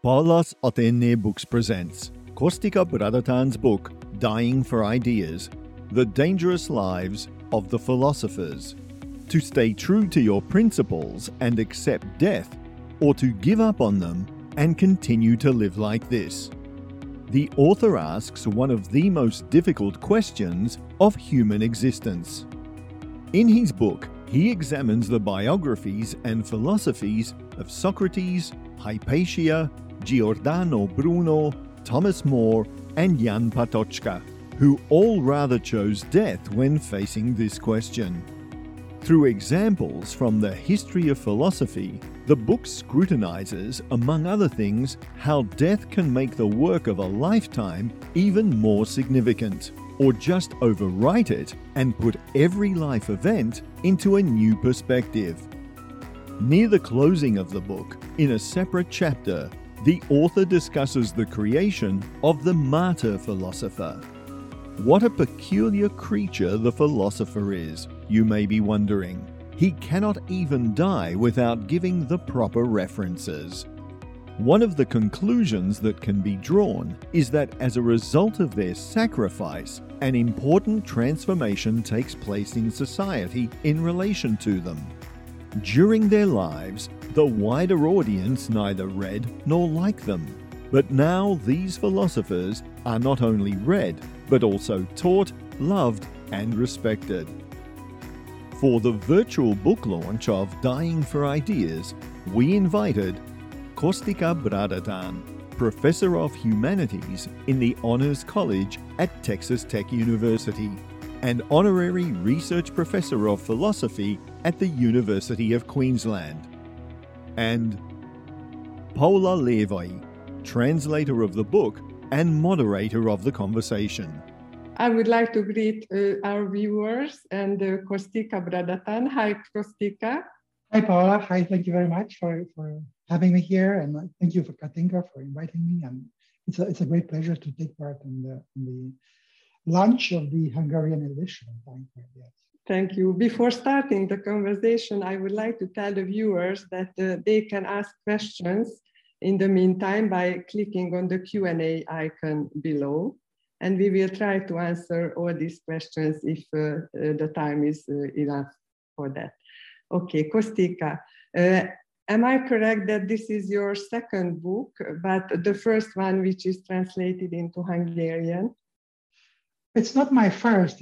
Paulas Athénée Books presents Kostika Bradatan's book, Dying for Ideas, The Dangerous Lives of the Philosophers. To stay true to your principles and accept death, or to give up on them and continue to live like this. The author asks one of the most difficult questions of human existence. In his book, he examines the biographies and philosophies of Socrates, Hypatia, Giordano Bruno, Thomas More, and Jan Patočka, who all rather chose death when facing this question. Through examples from the history of philosophy, the book scrutinizes, among other things, how death can make the work of a lifetime even more significant, or just overwrite it and put every life event into a new perspective. Near the closing of the book, in a separate chapter, the author discusses the creation of the martyr philosopher. What a peculiar creature the philosopher is, you may be wondering. He cannot even die without giving the proper references. One of the conclusions that can be drawn is that as a result of their sacrifice, an important transformation takes place in society in relation to them. During their lives, the wider audience neither read nor liked them. But now these philosophers are not only read, but also taught, loved, and respected. For the virtual book launch of Dying for Ideas, we invited Kostika Bradatan, Professor of Humanities in the Honors College at Texas Tech University, and Honorary Research Professor of Philosophy at the University of Queensland, and Paula Levy, translator of the book and moderator of the conversation. I would like to greet our viewers and Kostika Bradatan. Hi, Kostika. Hi, Paula. Hi, thank you very much for having me here, and thank you for Katinka for inviting me. And it's a great pleasure to take part in the launch of the Hungarian edition of Dying for Ideas. Thank you. Before starting the conversation, I would like to tell the viewers that they can ask questions in the meantime by clicking on the Q&A icon below. And we will try to answer all these questions if the time is enough for that. Okay, Kostika, am I correct that this is your second book, but the first one which is translated into Hungarian? It's not my first.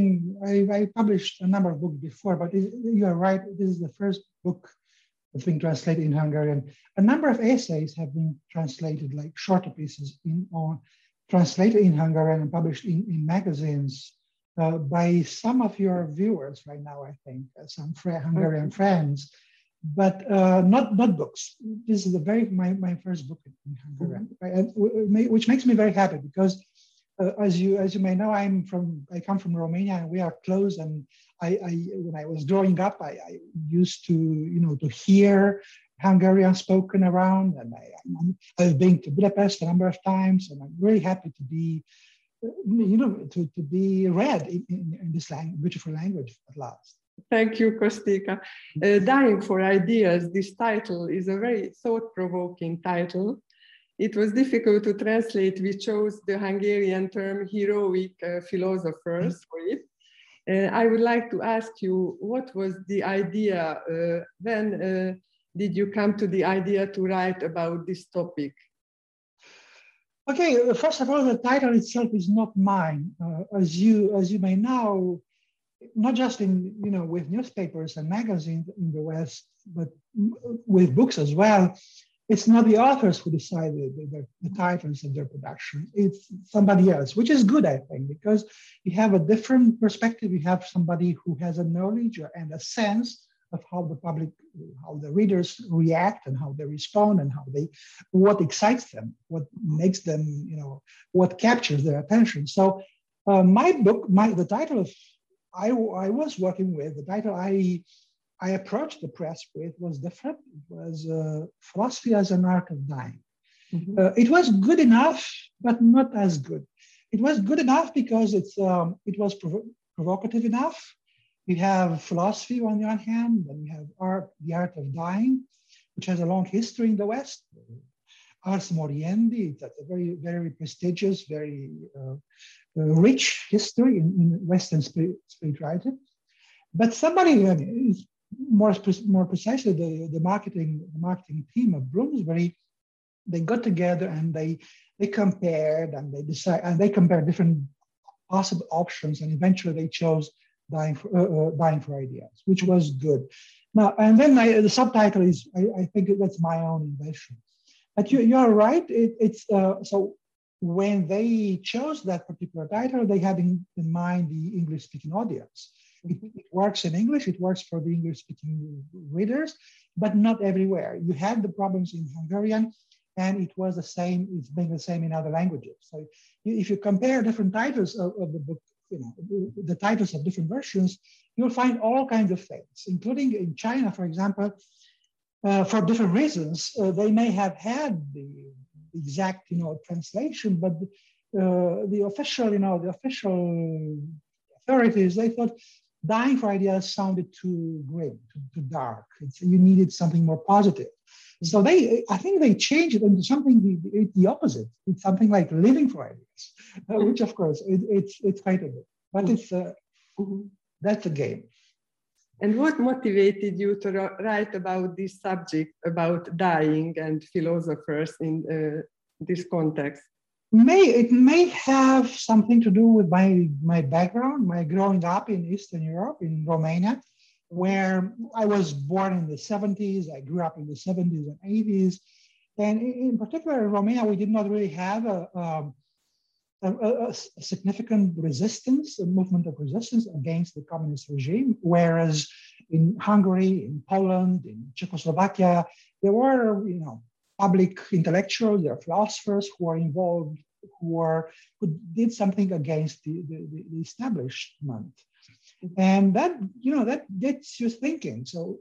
I published a number of books before, but you are right. This is the first book that's been translated in Hungarian. A number of essays have been translated, like shorter pieces, translated in Hungarian and published in magazines by some of your viewers right now, I think, some Hungarian friends, but not books. This is my first book in Hungarian, right? Which makes me very happy because as you may know, I come from Romania, and we are close. And when I was growing up, I used to hear Hungarian spoken around, and I've been to Budapest a number of times, and I'm really happy to be, to be read in this beautiful language at last. Thank you, Kostika. Dying for Ideas, this title is a very thought-provoking title. It was difficult to translate. We chose the Hungarian term heroic philosophers for it. I would like to ask you, what was the idea? When did you come to the idea to write about this topic? Okay, first of all, the title itself is not mine. As you may know, not just with newspapers and magazines in the West, but with books as well. It's not the authors who decided the titles of their production. It's somebody else, which is good, I think, because you have a different perspective. You have somebody who has a knowledge and a sense of how the readers react and how they respond and what excites them, what makes them, what captures their attention. So my book, the title I was working with, the title I approached the press with was different. It was Philosophy as an Art of Dying. Mm-hmm. It was good enough, but not as good. It was good enough because it was provocative enough. We have philosophy on the one hand, then we have the art of dying, which has a long history in the West. Ars Moriendi. It's a very, very prestigious, very rich history in Western spirituality. But somebody is more precisely the marketing team of Bloomsbury, they got together and they compared and they compared different possible options, and eventually they chose Dying for Ideas, which was good. Now, and then the subtitle is, I think that's my own invention. But you're right. So when they chose that particular title, they had in mind the English-speaking audience. It works in English. It works for the English-speaking readers, but not everywhere. You had the problems in Hungarian, and it was the same. It's been the same in other languages. So if you compare different titles of the book, the titles of different versions, you'll find all kinds of things, including in China, for example. For different reasons, they may have had the exact, translation, but the official authorities, they thought Dying for Ideas sounded too grim, too dark. You needed something more positive. So I think they changed it into something the opposite. It's something like Living for Ideas, which of course it's quite a bit, but that's a game. And what motivated you to write about this subject, about dying and philosophers in this context? It may have something to do with my background, my growing up in Eastern Europe, in Romania, where I was born in the 70s. I grew up in the 70s and 80s. And in particular, in Romania, we did not really have a significant resistance, a movement of resistance against the communist regime, whereas in Hungary, in Poland, in Czechoslovakia, there were, public intellectuals, there are philosophers who are involved, who did something against the establishment. And that gets you thinking. So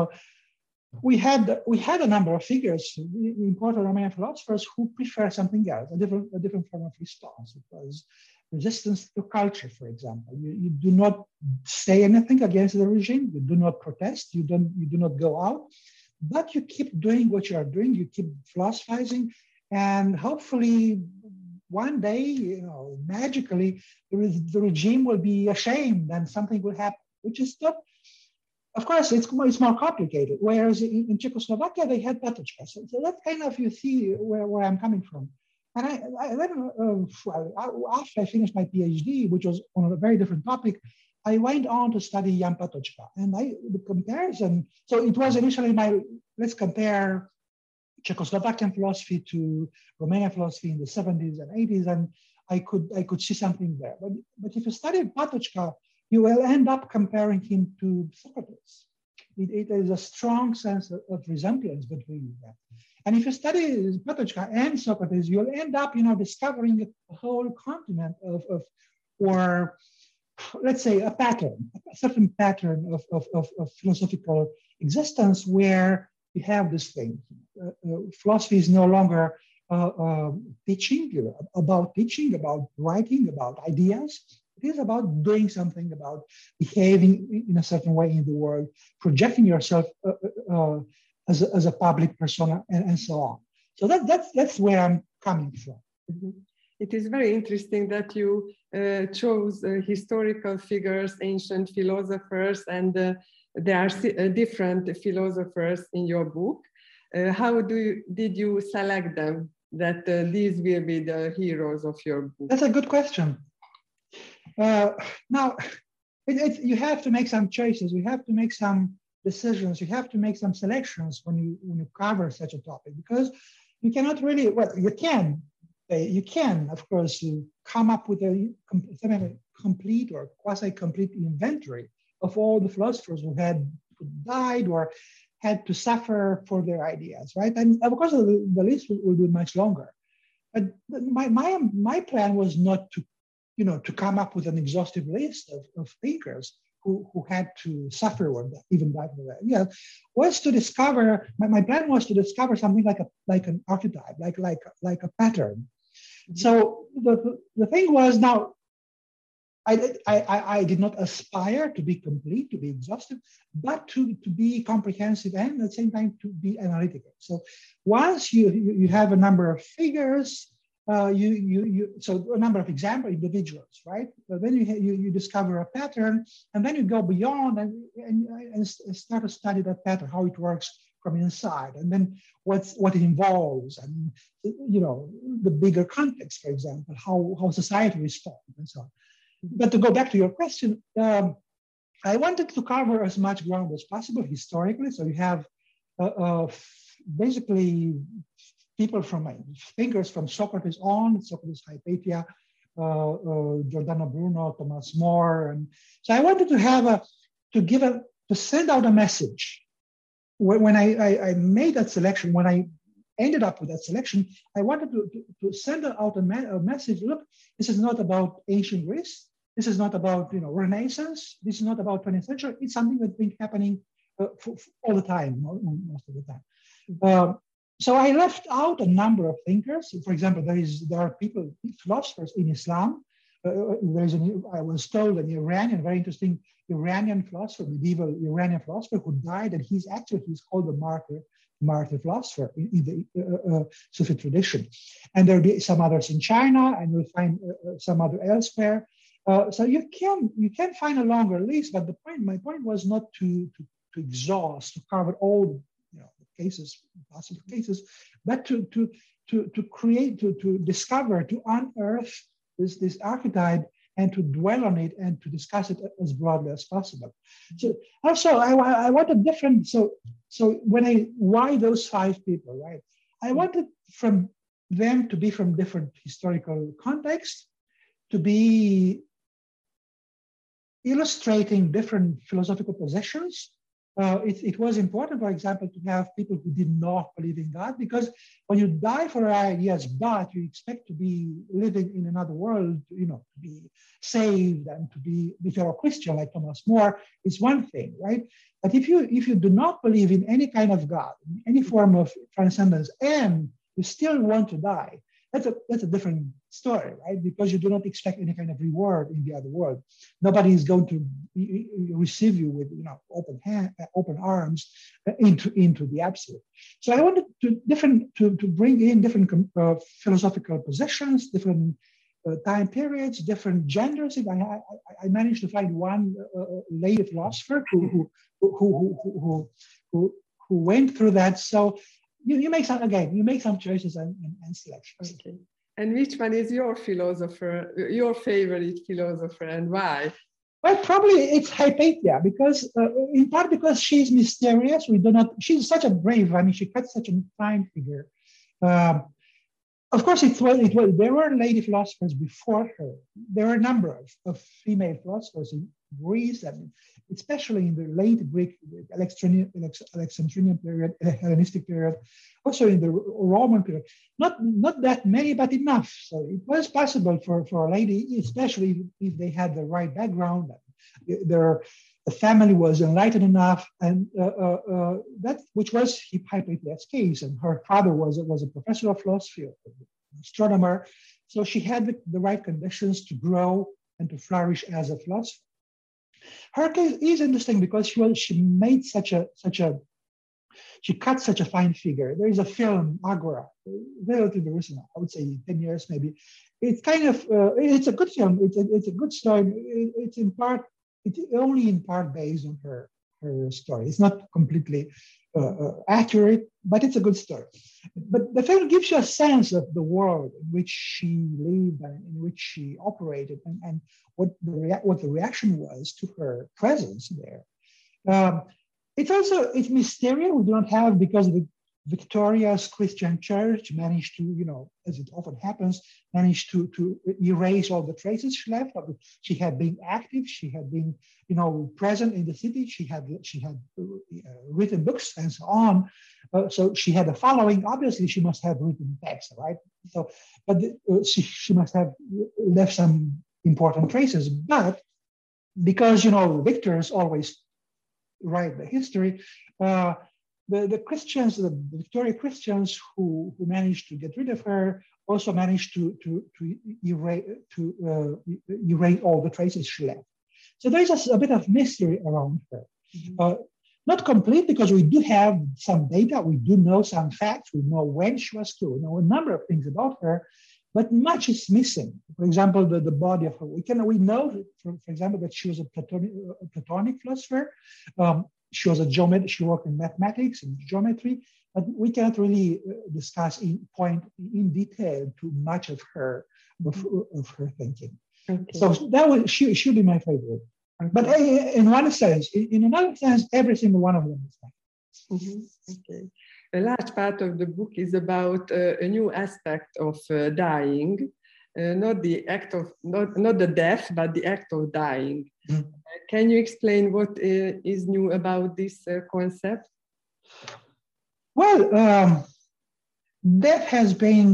we had a number of figures, important Romanian philosophers, who prefer something else, a different form of response. It was resistance to culture, for example. You do not say anything against the regime. You do not protest. You do not go out, but you keep doing what you are doing. You keep philosophizing, and hopefully one day, magically, the regime will be ashamed and something will happen, which is not. Of course, it's more complicated. Whereas in Czechoslovakia, they had Patočka. So that kind of, you see where I'm coming from. And after I finished my PhD, which was on a very different topic, I went on to study Jan Patočka. And the comparison, so it was initially let's compare Czechoslovakian philosophy to Romanian philosophy in the 70s and 80s, and I could see something there. But if you study Patočka, you will end up comparing him to Socrates. It is a strong sense of resemblance between them. And if you study Patočka and Socrates, you'll end up, discovering a whole continent or let's say a certain pattern of philosophical existence where you have this thing. Philosophy is no longer teaching, about writing, about ideas. It is about doing something, about behaving in a certain way in the world, projecting yourself as a public persona, and so on. So that's where I'm coming from. Mm-hmm. It is very interesting that you chose historical figures, ancient philosophers, and there are different philosophers in your book. How did you select them, that these will be the heroes of your book? That's a good question. Now, you have to make some choices. You have to make some decisions. You have to make some selections when you cover such a topic, because you cannot really, you can, of course, come up with a complete or quasi-complete inventory of all the philosophers who died or had to suffer for their ideas, right? And of course, the list will be much longer. But my plan was not to come up with an exhaustive list of thinkers who had to suffer or even died for that. Yeah, was to discover. My plan was to discover something like an archetype, like a pattern. So the thing was, now I did not aspire to be complete, to be exhaustive, but to be comprehensive and at the same time to be analytical. So once you have a number of figures, so a number of example individuals, right? But then you discover a pattern, and then you go beyond and start to study that pattern, how it works from inside, and then what it involves, and the bigger context, for example, how society responds and so on. But to go back to your question, I wanted to cover as much ground as possible historically. So you have basically people thinkers from Socrates on, Socrates, Hypatia, Giordano Bruno, Thomas More. And so I wanted to send out a message. When I made that selection, when I ended up with that selection, I wanted to send out a message. Look, this is not about ancient Greece. This is not about Renaissance. This is not about 20th century. It's something that's been happening for all the time, most of the time. So I left out a number of thinkers. For example, there are philosophers in Islam. I was told an Iranian, very interesting Iranian philosopher, medieval Iranian philosopher who died, and he's called the martyr philosopher in the Sufi tradition. And there'll be some others in China, and you'll find some other elsewhere. So you can find a longer list, but my point was not to exhaust, to cover all possible cases, but to create, to discover, to unearth this archetype and to dwell on it and to discuss it as broadly as possible. So also I wanted different, so why those 5 people, right? I wanted from them to be from different historical contexts, to be illustrating different philosophical positions. It was important, for example, to have people who did not believe in God, because when you die for ideas, but you expect to be living in another world, to be saved and to be, if you're a Christian like Thomas More, it's one thing, right? But if you do not believe in any kind of God, in any form of transcendence, and you still want to die, that's a different story, right? Because you do not expect any kind of reward in the other world. Nobody is going to receive you with open arms into the absolute. So I wanted to bring in different philosophical positions, different time periods, different genders. I managed to find one lady philosopher who went through that. So you make some choices and selections. Okay. And which one is your favorite philosopher, and why? Well, probably it's Hypatia, because in part because she's mysterious. She's such a brave. I mean, she cuts such a fine figure. Of course, there were lady philosophers before her. There were a number of female philosophers in Greece, and especially in the late Greek Alexandrian period, Hellenistic period, also in the Roman period. Not that many, but enough. So it was possible for a lady, especially if they had the right background, the family was enlightened enough, and that which was Hypatia's case. And her father was a professor of philosophy, an astronomer, so she had the right conditions to grow and to flourish as a philosopher. Her case is interesting because she cut such a fine figure. There is a film, Agora, relatively recent, I would say 10 years maybe. It's kind of it's a good film. It's a good story. It's only in part based on her story. It's not completely accurate, but it's a good story. But the film gives you a sense of the world in which she lived and in which she operated, and what the reaction was to her presence there. It's mysterious. We do not have, because the Victoria's Christian Church managed to, as it often happens, managed to erase all the traces she left. She had been active. She had been, present in the city. She had written books and so on. So she had a following. Obviously, she must have written text, right? So, but she must have left some important traces. But because victors always write the history. the Christians, the Victoria Christians who managed to get rid of her, also managed to erase all the traces she left. So there's a bit of mystery around her. Mm-hmm. Not complete, because we do have some data, we do know some facts, we know when she was killed, we know a number of things about her, but much is missing. For example, the body of her. We know, for example, that she was a Platonic philosopher. She was a geometrist. She worked in mathematics and geometry, but we cannot really discuss in detail too much of her thinking. Okay. So that should be my favorite. Okay. But in one sense, in another sense, every single one of them is nice. Mm-hmm. Okay. A large part of the book is about a new aspect of dying, not the act of not the death, but the act of dying. Mm-hmm. Can you explain what is new about this concept? Well, death as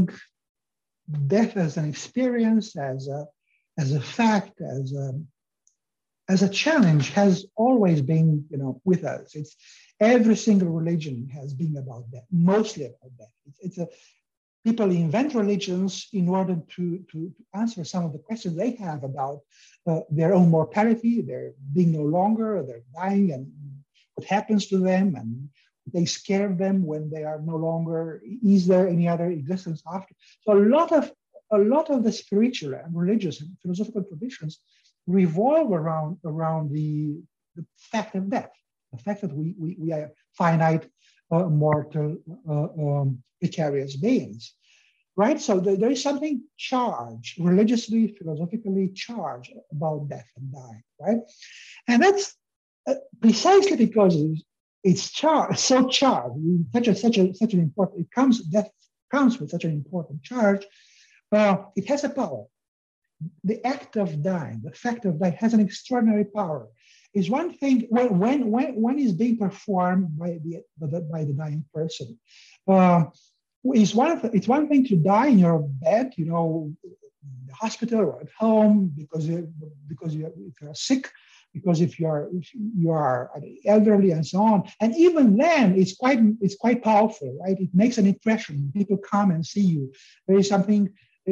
an experience, as a fact, as a challenge, has always been, with us. It's every single religion has been about that, mostly about that. People invent religions in order to answer some of the questions they have about their own mortality, their being no longer, their dying, and what happens to them, and they scare them when they are no longer. Is there any other existence after? So a lot of the spiritual and religious and philosophical traditions revolve around the fact of death, the fact that we are finite, mortal, precarious beings, right? So there is something charged, religiously, philosophically charged about death and dying, right? And that's precisely because it's charged, so charged, such an important. Death comes with such an important charge. It has a power. The act of dying, the fact of dying, has an extraordinary power. Is one thing when it's being performed by the dying person. It's one thing to die in your bed, in the hospital or at home because if you're sick, because if you are elderly and so on. And even then, it's quite powerful, right? It makes an impression. People come and see you. There is something.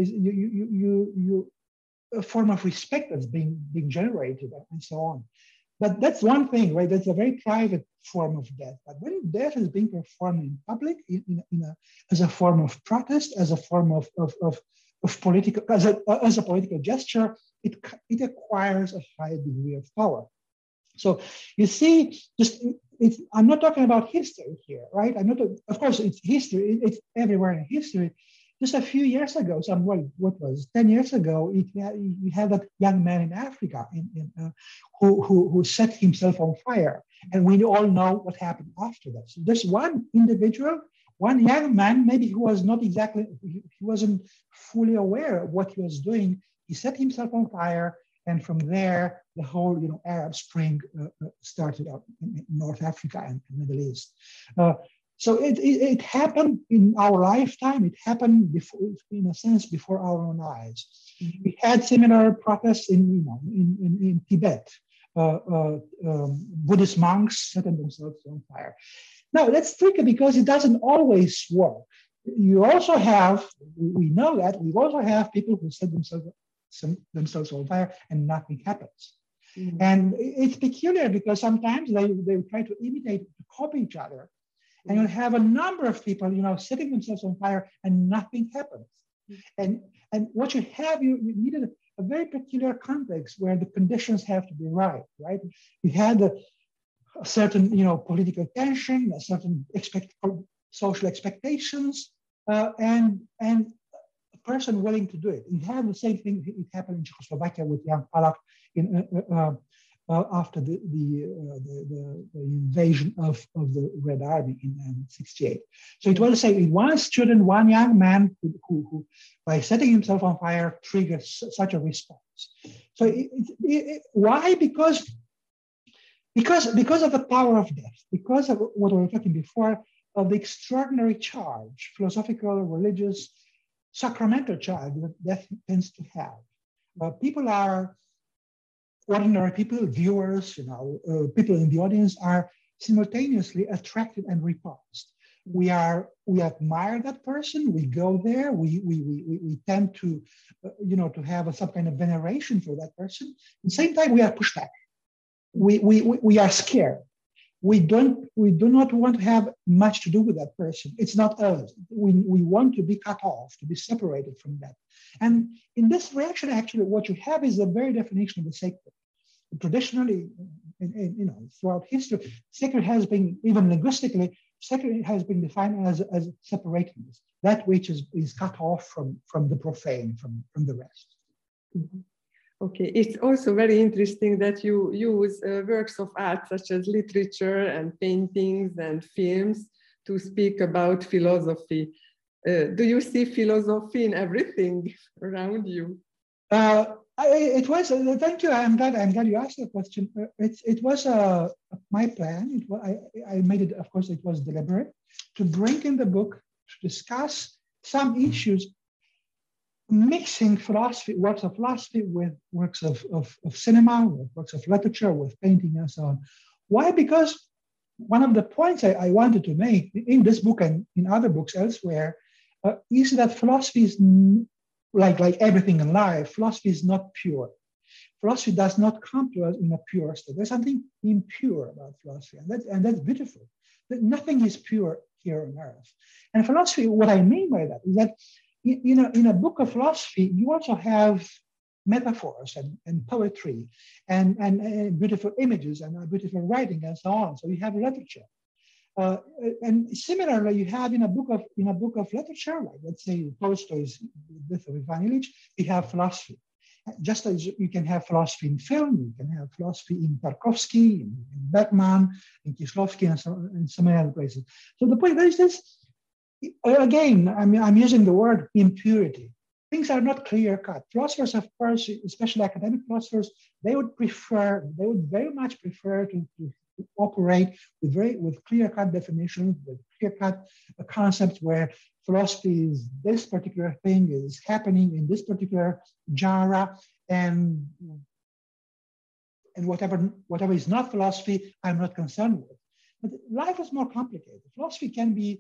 A form of respect that's being generated and so on. But that's one thing, right? That's a very private form of death. But when death is being performed in public, as a form of protest, as a form of political, as a political gesture, it acquires a high degree of power. So you see, I'm not talking about history here, right? Of course, it's history. It's everywhere in history. Just a few years ago, 10 years ago, we had that young man in Africa who set himself on fire. And we all know what happened after that. So there's one individual, one young man, maybe he wasn't fully aware of what he was doing. He set himself on fire. And from there, the whole Arab Spring started out in North Africa and the Middle East. So it happened in our lifetime. It happened before, in a sense, before our own eyes. We had similar protests in Tibet. Buddhist monks setting themselves on fire. Now that's tricky because it doesn't always work. You also have, we know that, we also have people who set themselves on fire and nothing happens. Mm-hmm. And it's peculiar because sometimes they try to imitate, to copy each other. And you'll have a number of people, setting themselves on fire and nothing happens. And what you have, you needed a very peculiar context where the conditions have to be right? You had a certain, political tension, a certain social expectations, and a person willing to do it. You have the same thing. It happened in Czechoslovakia with Jan Palach after the invasion of the Red Army in 1968. So it was the same. One student, one young man who by setting himself on fire, triggered such a response. So why? Because of the power of death, because of what we were talking before, of the extraordinary charge, philosophical, religious, sacramental charge that death tends to have. People are ordinary people, viewers, people in the audience are simultaneously attracted and repulsed. We admire that person. We go there. We tend to, to have some kind of veneration for that person. At the same time, we are pushed back. We are scared. We do not want to have much to do with that person. It's not us. We want to be cut off, to be separated from that. And in this reaction, actually, what you have is the very definition of the sacred. Traditionally, throughout history, sacred has been, even linguistically, sacred has been defined as separateness, that which is cut off from the profane, from the rest. Mm-hmm. Okay, it's also very interesting that you use works of art such as literature and paintings and films to speak about philosophy. Do you see philosophy in everything around you? It was. Thank you. I'm glad you asked the question. It was my plan. I made it. Of course, it was deliberate to bring in the book to discuss some issues, mixing philosophy, works of philosophy with works of cinema, with works of literature, with painting, and so on. Why? Because one of the points I wanted to make in this book and in other books elsewhere is that philosophy is like everything in life. Philosophy is not pure. Philosophy does not come to us in a pure state. There's something impure about philosophy, and that's beautiful. That nothing is pure here on earth. And philosophy, what I mean by that is that in a book of philosophy, you also have metaphors and poetry and beautiful images and beautiful writing and so on. So you have literature. And similarly, you have in a book of literature, like let's say Tolstoy's Death of Ivan Ilyich, you have philosophy. Just as you can have philosophy in film, you can have philosophy in Tarkovsky, in Bergman, in Kieślowski, and so many other places. So the point is this. Again, I'm using the word impurity. Things are not clear cut. Philosophers, of course, especially academic philosophers, they would very much prefer to operate with clear cut definitions, with clear cut concepts where philosophy is this particular thing is happening in this particular genre, and whatever is not philosophy, I'm not concerned with. But life is more complicated. Philosophy can be.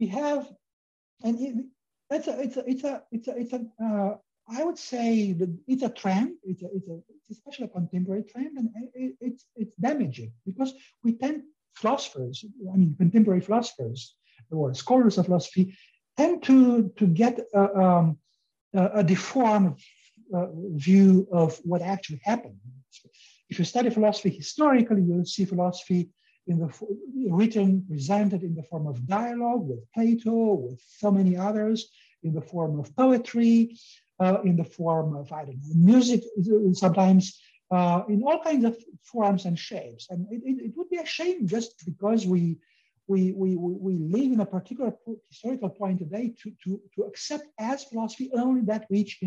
I would say that it's a trend. It's especially a contemporary trend, and it's damaging because philosophers, contemporary philosophers or scholars of philosophy, tend to get a deformed view of what actually happened. If you study philosophy historically, you'll see philosophy presented in the form of dialogue with Plato, with so many others, in the form of poetry, in the form of, music, sometimes in all kinds of forms and shapes. And it would be a shame just because we live in a particular historical point today to accept as philosophy only that which,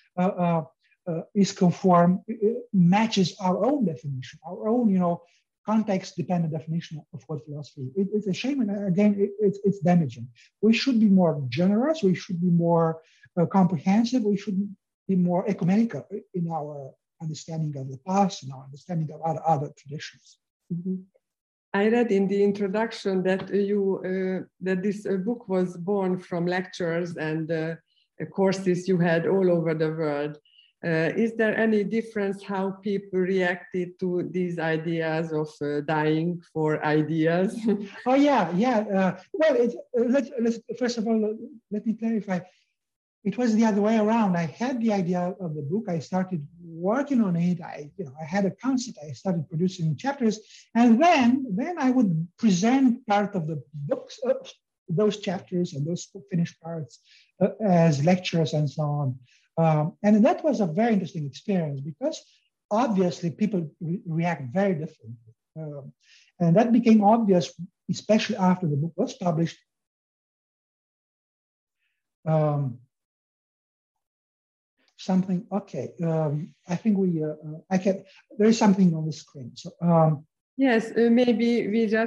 is conform, matches our own definition, our own, context-dependent definition of what philosophy is. It's a shame, and again, it's damaging. We should be more generous. We should be more comprehensive. We should be more ecumenical in our understanding of the past and our understanding of other traditions. Mm-hmm. I read in the introduction that that this book was born from lectures and courses you had all over the world. Is there any difference how people reacted to these ideas of dying for ideas? Oh yeah. Well, let's first of all let me clarify. It was the other way around. I had the idea of the book. I started working on it. I had a concept. I started producing chapters, and then I would present part of the books, those chapters and those finished parts, as lectures and so on. And that was a very interesting experience because obviously people react very differently. And that became obvious, especially after the book was published. I think there is something on the screen. So yes, maybe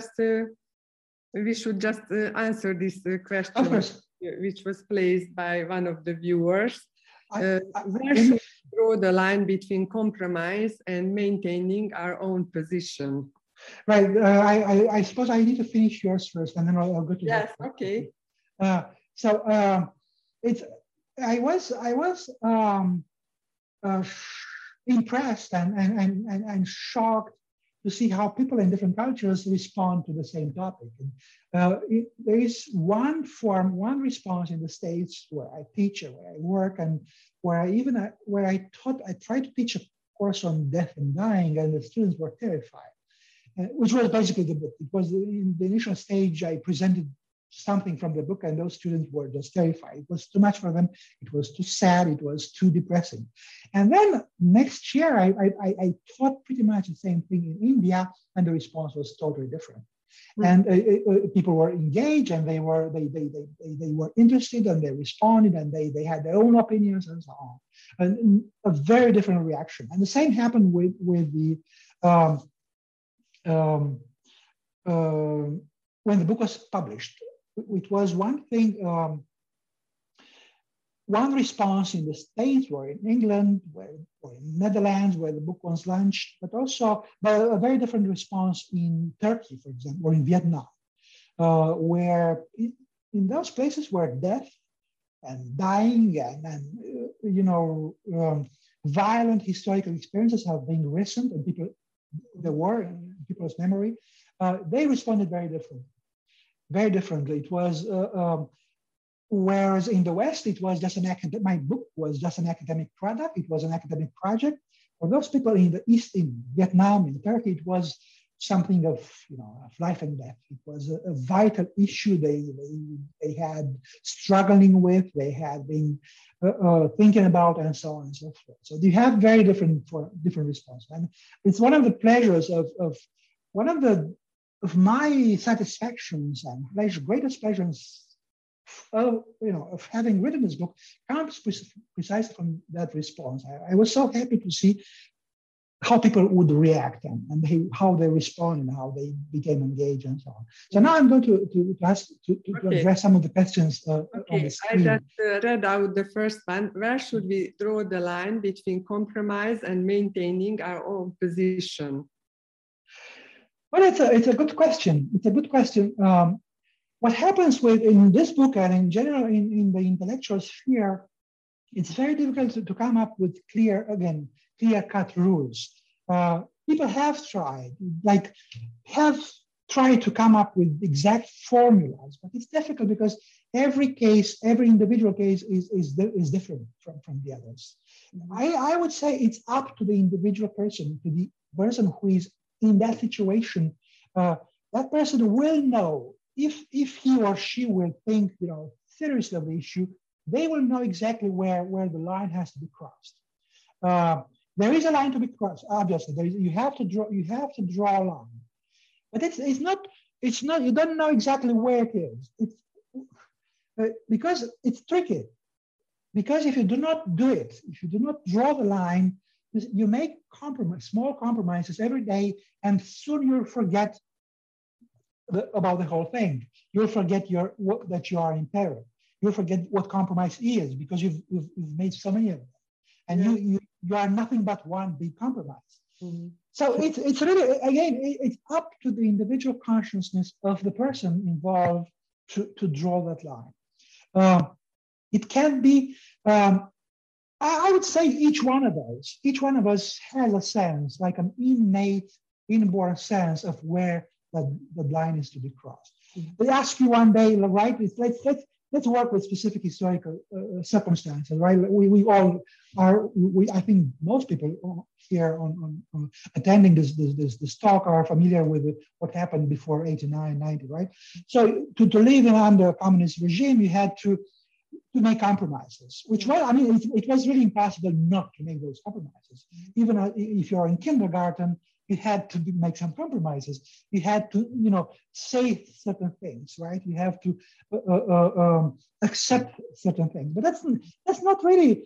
we should just answer this question, which was placed by one of the viewers. Where should we draw the line between compromise and maintaining our own position? Right. I suppose I need to finish yours first, and then I'll go to Yes, that. okay. So it's I was uh, impressed and shocked to see how people in different cultures respond to the same topic. And, there is one response in the States where I teach, or where I work, and where I tried to teach a course on death and dying, and the students were terrified. Which was basically the book. It was in the initial stage, I presented something from the book, and those students were just terrified. It was too much for them. It was too sad. It was too depressing. And then next year, I taught pretty much the same thing in India, and the response was totally different. And people were engaged, and they were interested, and they responded, and they had their own opinions, and so on. And a very different reaction. And the same happened with the when the book was published. It was one thing, one response in the States, or in England, or in Netherlands, where the book was launched, but also a very different response in Turkey, for example, or in Vietnam, where in those places where death and dying and violent historical experiences have been recent, and the war in people's memory, they responded very differently. It was, whereas in the West, it was just my book was just an academic product. It was an academic project. For those people in the East, in Vietnam, in Turkey, it was something of life and death. It was a vital issue they had struggling with, they had been thinking about, and so on and so forth. So you have very different responses. And it's one of the pleasures of my satisfactions and greatest pleasures of having written this book comes precisely from that response. I was so happy to see how people would react and how they respond and how they became engaged and so on. So now I'm going to address some of the questions on the screen. I just read out the first one. Where should we draw the line between compromise and maintaining our own position? Well, it's a good question. It's a good question. What happens in this book and in general in the intellectual sphere, it's very difficult to come up with clear-cut rules. People have tried to come up with exact formulas, but it's difficult because every individual case is different from the others. I would say it's up to the individual person, to the person who is in that situation. That person will know if he or she will think seriously of the issue. They will know exactly where the line has to be crossed. There is a line to be crossed. Obviously, you have to draw a line, but it's not. You don't know exactly where it is. It's because it's tricky. Because if you do not do it, if you do not draw the line, you make small compromises every day, and soon you'll forget about the whole thing. You'll forget that you are in peril. You'll forget what compromise is because you've made so many of them, and you are nothing but one big compromise. Mm-hmm. So it's really, again, it's up to the individual consciousness of the person involved to draw that line. It can be, I would say each one of us has a sense, like an innate, inborn sense of where the line is to be crossed. They ask you one day, right? Let's work with specific historical circumstances, right? We all are. I think most people here on attending this talk are familiar with what happened before 89, 90, right? So to live under a communist regime, you had to make compromises, which was, it was really impossible not to make those compromises. Even if you're in kindergarten, you had to make some compromises. You had to, say certain things, right? You have to accept certain things. But that's not really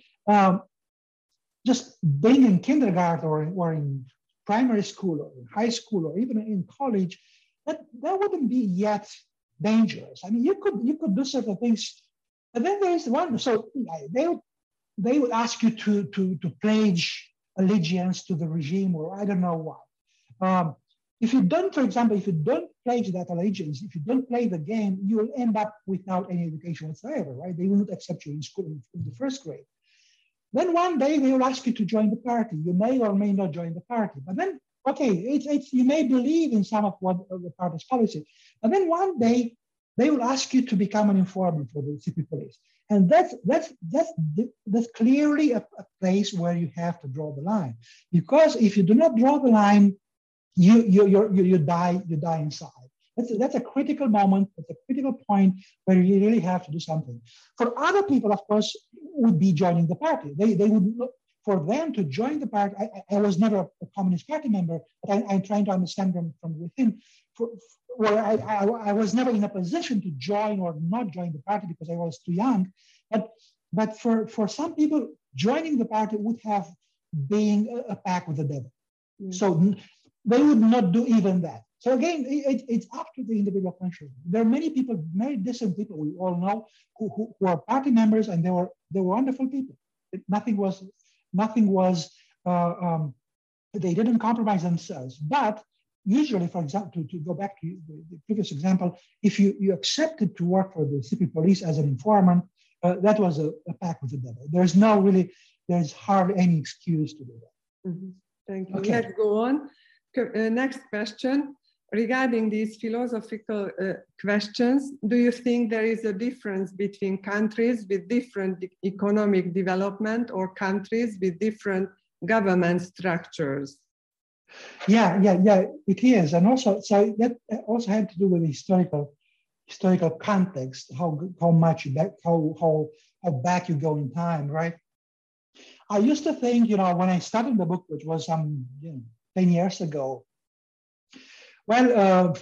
just being in kindergarten or in primary school or in high school or even in college. That wouldn't be yet dangerous. You could do certain things. And then there is one. So they would ask you to pledge allegiance to the regime, or I don't know what. if you don't, for example, if you don't pledge that allegiance, if you don't play the game, you will end up without any education whatsoever, right? They will not accept you in school in the first grade. Then one day they will ask you to join the party. You may or may not join the party, but then, okay, you may believe in some of what the party's policy, but then one day they will ask you to become an informant for the secret police. And that's clearly a place where you have to draw the line. Because if you do not draw the line, you die inside. That's a critical moment, that's a critical point where you really have to do something. For other people, of course, would be joining the party. They would look, for them to join the party. I was never a Communist Party member, but I'm trying to understand them from within. Where I was never in a position to join or not join the party because I was too young. But for some people, joining the party would have been a pact with the devil. Mm-hmm. So they would not do even that. So again, it's up to the individual conscience. There are many people, very decent people we all know, who are party members, and they were wonderful people. Nothing was. They didn't compromise themselves. But usually, for example, to go back to the previous example, if you accepted to work for the secret police as an informant, that was a pact with the devil. There's hardly any excuse to do that. Mm-hmm. Thank you. Okay. Let's go on. Next question. Regarding these philosophical questions, do you think there is a difference between countries with different economic development or countries with different government structures? Yeah, it is. And also, so that also had to do with historical context, how back you go in time, right? I used to think, when I started the book, which was 10 years ago, well,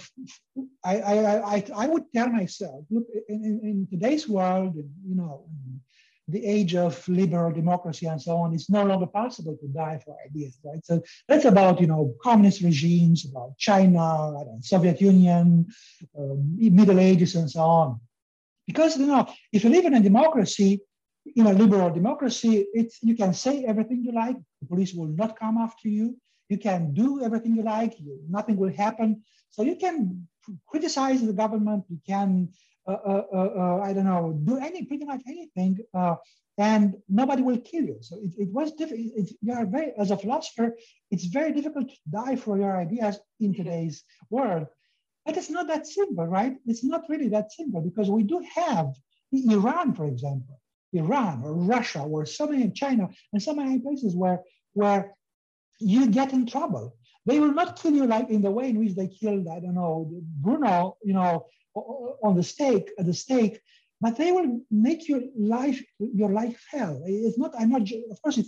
I would tell myself, look, in today's world, the age of liberal democracy and so on, it's no longer possible to die for ideas, right? So that's about, communist regimes, about China, Soviet Union, Middle Ages and so on. Because, if you live in a democracy, liberal democracy, you can say everything you like. The police will not come after you. You can do everything you like. Nothing will happen. So you can criticize the government. You can, do pretty much anything, and nobody will kill you. So it was difficult. As a philosopher, it's very difficult to die for your ideas in today's world. But it's not that simple, right? It's not really that simple, because we do have Iran, for example, Iran or Russia, or so many, China, and so many places where you get in trouble. They will not kill you like in the way in which they killed, Bruno, on the stake, but they will make your life hell. It's not. I'm not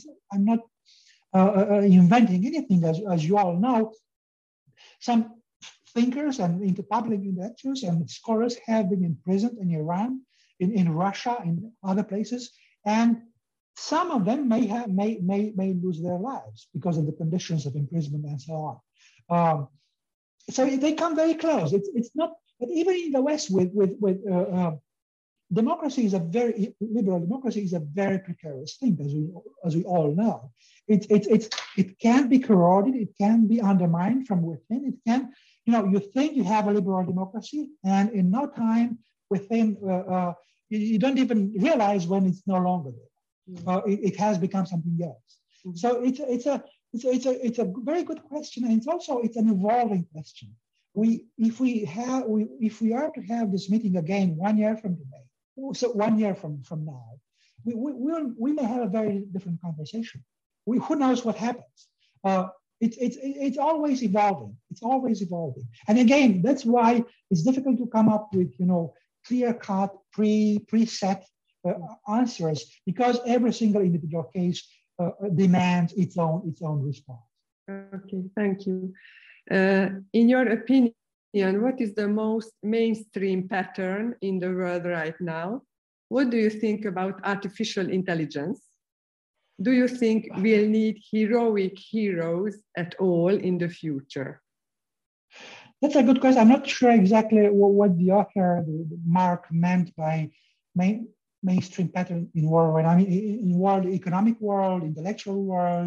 inventing anything, as you all know. Some thinkers and public intellectuals and scholars have been imprisoned in Iran, in Russia, in other places, and some of them may lose their lives because of the conditions of imprisonment and so on. So they come very close. It's not. But even in the West, democracy is liberal democracy is a very precarious thing, as we all know. It can be corroded. It can be undermined from within. It can, you think you have a liberal democracy, and in no time within, you don't even realize when it's no longer there. It has become something else. Mm-hmm. So it's a very good question, and it's an evolving question. If we are to have this meeting again 1 year from today, so 1 year from now, we may have a very different conversation. Who knows what happens? It's always evolving. It's always evolving. And again, that's why it's difficult to come up with clear-cut, preset answers, because every single individual case demands its own response. Okay, thank you. In your opinion, what is the most mainstream pattern in the world right now? What do you think about artificial intelligence? Do you think we'll need heroic heroes at all in the future? That's a good question. I'm not sure exactly what the author, Mark, meant by mainstream pattern in world. I mean, in world, economic world, intellectual world,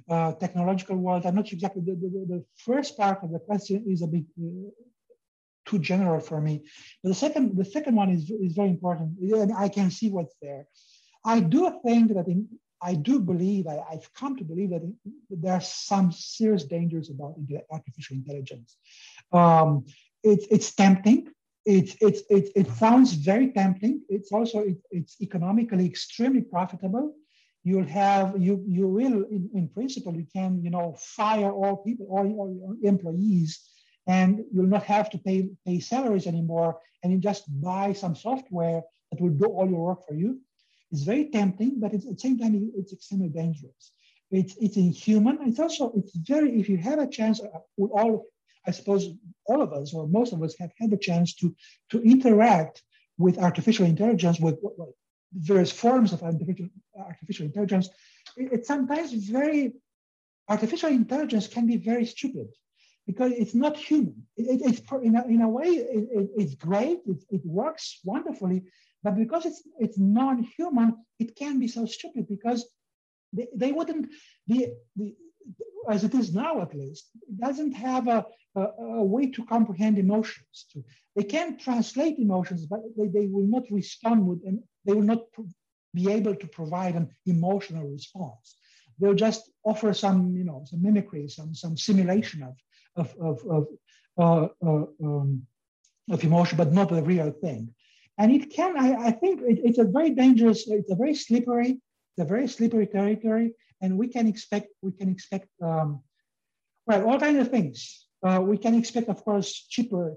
technological world. I'm not sure exactly, the first part of the question is a bit too general for me. But the second one is very important, and I can see what's there. I do think that I do believe, I've come to believe that there are some serious dangers about artificial intelligence. It's tempting. It sounds very tempting. It's also, it's economically extremely profitable. You will, in principle, you can, fire all people, all your employees, and you'll not have to pay salaries anymore, and you just buy some software that will do all your work for you. It's very tempting, but at the same time, it's extremely dangerous. It's inhuman. It's very, if you have a chance, with I suppose all of us, or most of us, have had the chance to interact with artificial intelligence, with various forms of artificial intelligence. It's sometimes artificial intelligence can be very stupid, because it's not human. It's in a way, it's great, it works wonderfully, but because it's non-human, it can be so stupid, because they wouldn't be, as it is now at least, it doesn't have a way to comprehend emotions. They can translate emotions, but they will not respond with, and they will not be able to provide an emotional response. They'll just offer some, some mimicry, some simulation of emotion, but not a real thing. And it can, I think it's a very dangerous, it's a very slippery territory, and we can expect well, all kinds of things. We can expect, of course, cheaper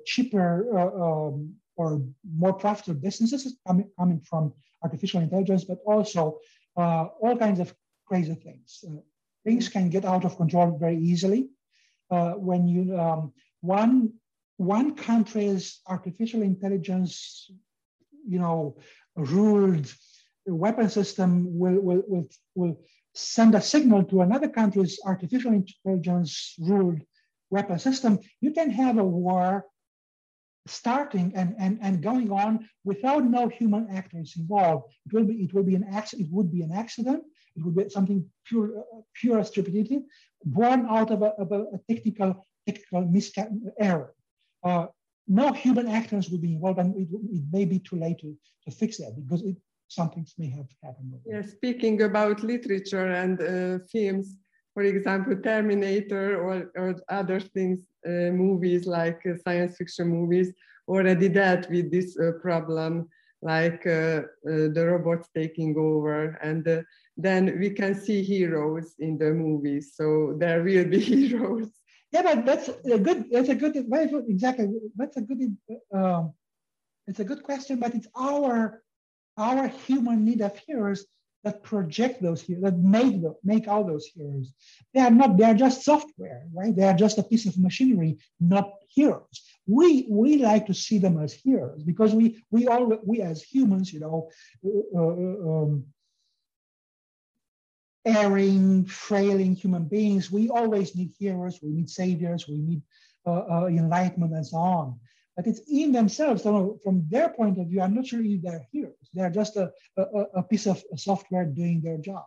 or more profitable businesses coming from artificial intelligence, but also all kinds of crazy things. Things can get out of control very easily. When one country's artificial intelligence, ruled weapon system will send a signal to another country's artificial intelligence ruled weapon system, you can have a war starting and going on without no human actors involved. It would be an accident. It would be something pure stupidity, born out of a technical error. No human actors would be involved, and it may be too late to fix that, because some things may have happened. Yeah, speaking about literature and films, for example, Terminator or other things, movies like science fiction movies already dealt with this problem, like the robots taking over, and then we can see heroes in the movies. So there will be heroes. Yeah, but that's a good, very good, exactly. That's a good, it's a good question, but it's our human need of heroes that project those heroes, that make all those heroes. They are just software, right? They are just a piece of machinery, not heroes. We like to see them as heroes, because we as humans, erring, frailing human beings, we always need heroes, we need saviors, we need enlightenment and so on. But it's in themselves, from their point of view, I'm not sure if they're heroes. They're just a piece of software doing their job.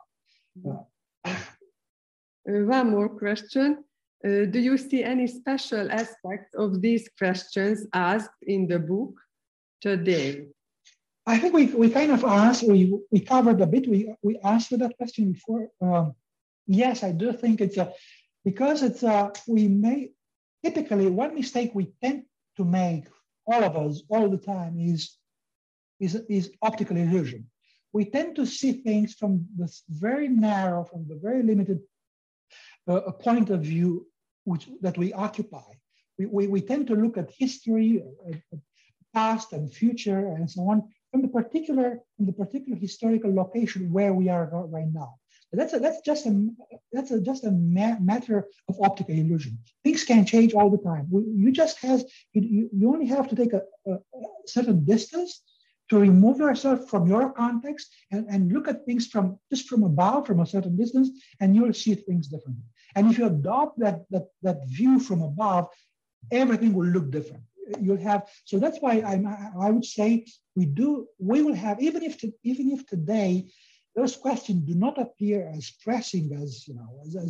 One more question. Do you see any special aspects of these questions asked in the book today? I think we kind of asked, we covered a bit, we answered that question before. Yes, I do think because typically one mistake we tend to make, all of us, all the time, is optical illusion. We tend to see things from this very narrow, from the very limited point of view that we occupy. We tend to look at history, past and future, and so on, from the particular historical location where we are right now. But that's just a matter of optical illusion. Things can change all the time. You only have to take a certain distance to remove yourself from your context and look at things from above, from a certain distance, and you'll see things differently. And if you adopt that view from above, everything will look different. So that's why I would say we will have, even if today those questions do not appear as pressing as, you know,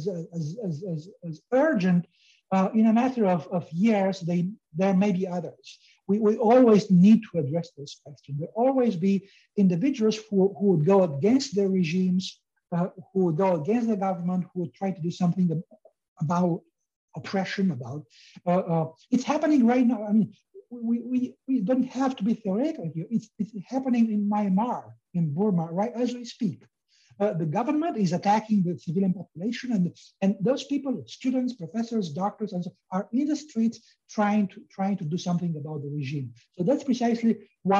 as urgent. In a matter of years, there may be others. We always need to address those questions. There will always be individuals who would go against their regimes, who would go against the government, who would try to do something about oppression, about, it's happening right now. I mean, we don't have to be theoretical here. It's happening in Myanmar, in Burma, right as we speak. The government is attacking the civilian population, and those people, students, professors, doctors, and so are in the streets trying to do something about the regime. So that's precisely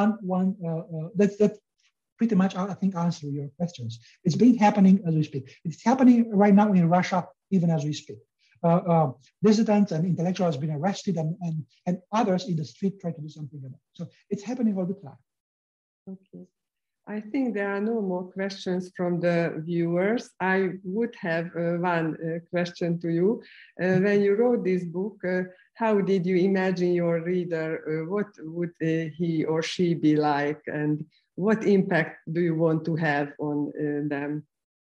that's pretty much, I think, answer your questions. It's been happening as we speak. It's happening right now in Russia, even as we speak. Dissidents and intellectuals have been arrested, and others in the street try to do something about it. So it's happening all the time. Okay. I think there are no more questions from the viewers. I would have one question to you. When you wrote this book, how did you imagine your reader? What would he or she be like? And what impact do you want to have on them?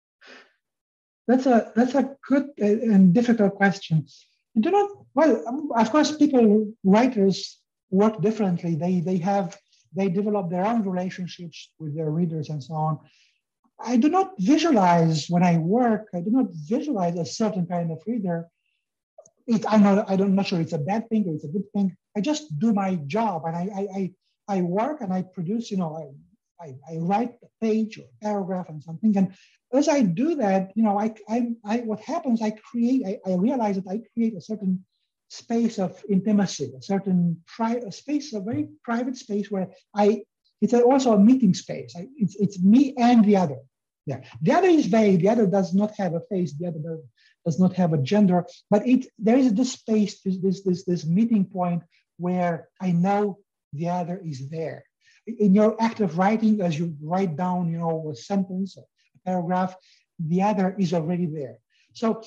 That's a good and difficult question. You do not, well, of course, writers work differently. They develop their own relationships with their readers and so on. I do not visualize when I work, I do not visualize a certain kind of reader. I'm not sure it's a bad thing or it's a good thing. I just do my job, and I work and I produce, you know, I write a page or a paragraph and something. And as I do that, you know, what happens, I realize that I create a certain space of intimacy, a certain space, a very private space where it's also a meeting space. It's me and the other. Yeah. The other is vague. The other does not have a face. The other does not have a gender. But there is this space, this meeting point where I know the other is there. In your act of writing, as you write down, you know, a sentence, a paragraph, the other is already there. So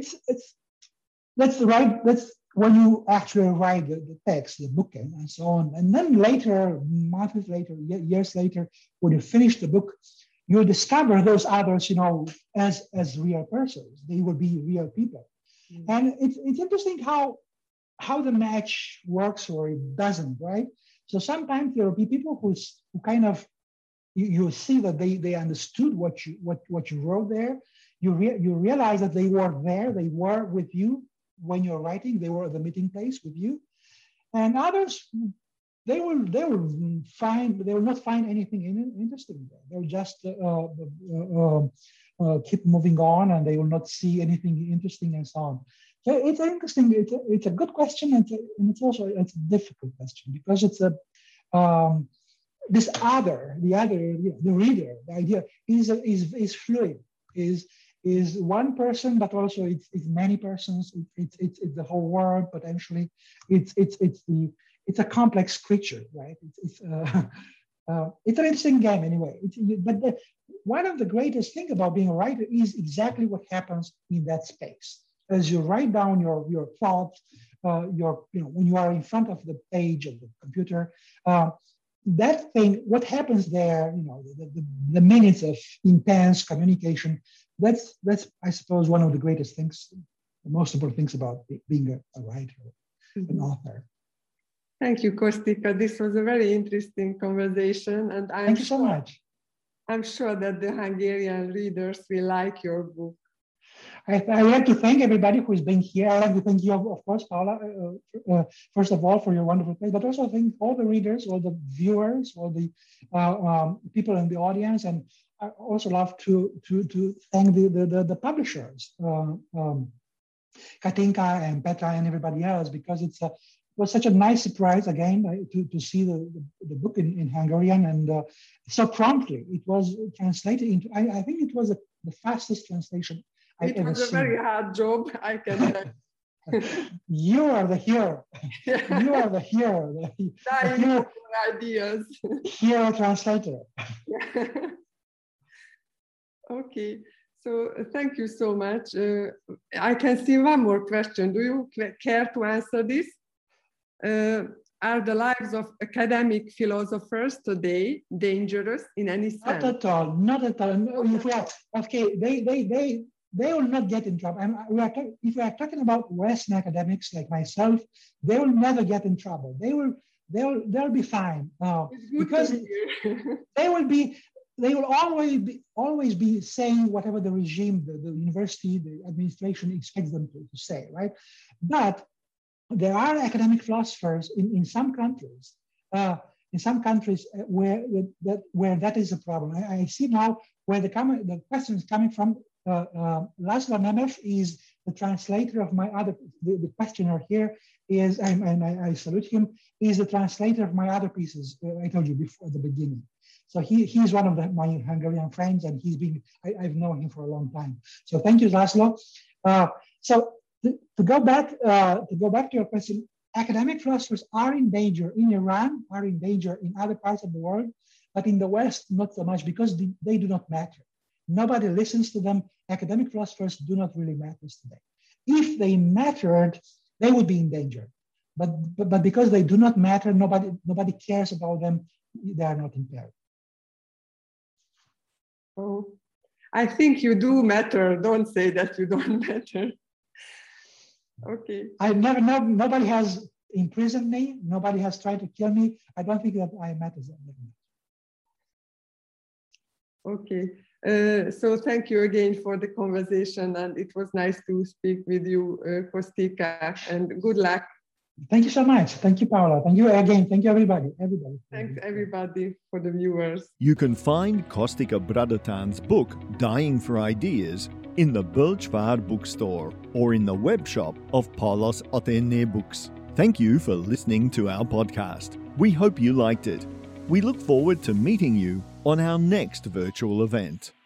that's when you actually write the text, the book, and so on. And then later, months later, years later, when you finish the book, you discover those others, you know, as real persons. They will be real people. Mm-hmm. And it's interesting how the match works or it doesn't, right? So sometimes there will be people who kind of, you see that they understood what you wrote there. You realize that they were there, they were with you when you're writing, they were at the meeting place with you. And others, they will not find anything interesting there. They'll just keep moving on, and they will not see anything interesting and so on. So it's interesting. It's a good question, and it's also a difficult question, because it's this other, the reader, the idea is fluid, is one person, but also it's many persons. It's the whole world potentially. It's a complex creature, right? It's an interesting game anyway. But one of the greatest things about being a writer is exactly what happens in that space. As you write down your thoughts, when you are in front of the page of the computer, that thing, what happens there, you know, the minutes of intense communication, that's I suppose one of the greatest things, the most important things about being a writer, an author. Thank you, Kostika. This was a very interesting conversation, and thank you so much. I'm sure that the Hungarian readers will like your book. I like to thank everybody who's been here. I like to thank you, of course, Paula, first of all, for your wonderful place, but also thank all the readers, all the viewers, all the people in the audience. And I also love to thank the publishers, Katinka and Petra and everybody else, because it was such a nice surprise again to see the book in Hungarian, and so promptly it was translated into, I think it was the fastest translation I've ever seen. It was a very hard job, I can tell. You are the hero. You are the hero. The hero ideas. Hero translator. Okay. So thank you so much. I can see one more question. Do you care to answer this? Are the lives of academic philosophers today dangerous in any sense? Not at all. Not at all. If we are, okay, they will not get in trouble. If we are talking about Western academics like myself, they will never get in trouble. They'll be fine because they will always be saying whatever the regime, the university, the administration expects them to say, right? But there are academic philosophers in some countries, where that is a problem. I see now where the question is coming from. Laszlo Nemeth is the translator of my other. The questioner here is, and I salute him. Is the translator of my other pieces. I told you before at the beginning. So he's one of my Hungarian friends, and I've known him for a long time. So thank you, Laszlo. To go back to your question, academic philosophers are in danger in Iran, are in danger in other parts of the world, but in the West, not so much because they do not matter. Nobody listens to them. Academic philosophers do not really matter today. If they mattered, they would be in danger. But because they do not matter, nobody cares about them. They are not impaired. Oh, I think you do matter. Don't say that you don't matter. Okay. Nobody has imprisoned me. Nobody has tried to kill me. I don't think that I matter. Okay. So thank you again for the conversation, and it was nice to speak with you, Kostika, and good luck. Thank you so much. Thank you, Paula. Thank you again. Thank you, everybody. Thanks, everybody, for the viewers. You can find Kostika Bradatán's book, Dying for Ideas, in the Bölcsvár bookstore or in the web shop of Paulus Athéné Books. Thank you for listening to our podcast. We hope you liked it. We look forward to meeting you on our next virtual event.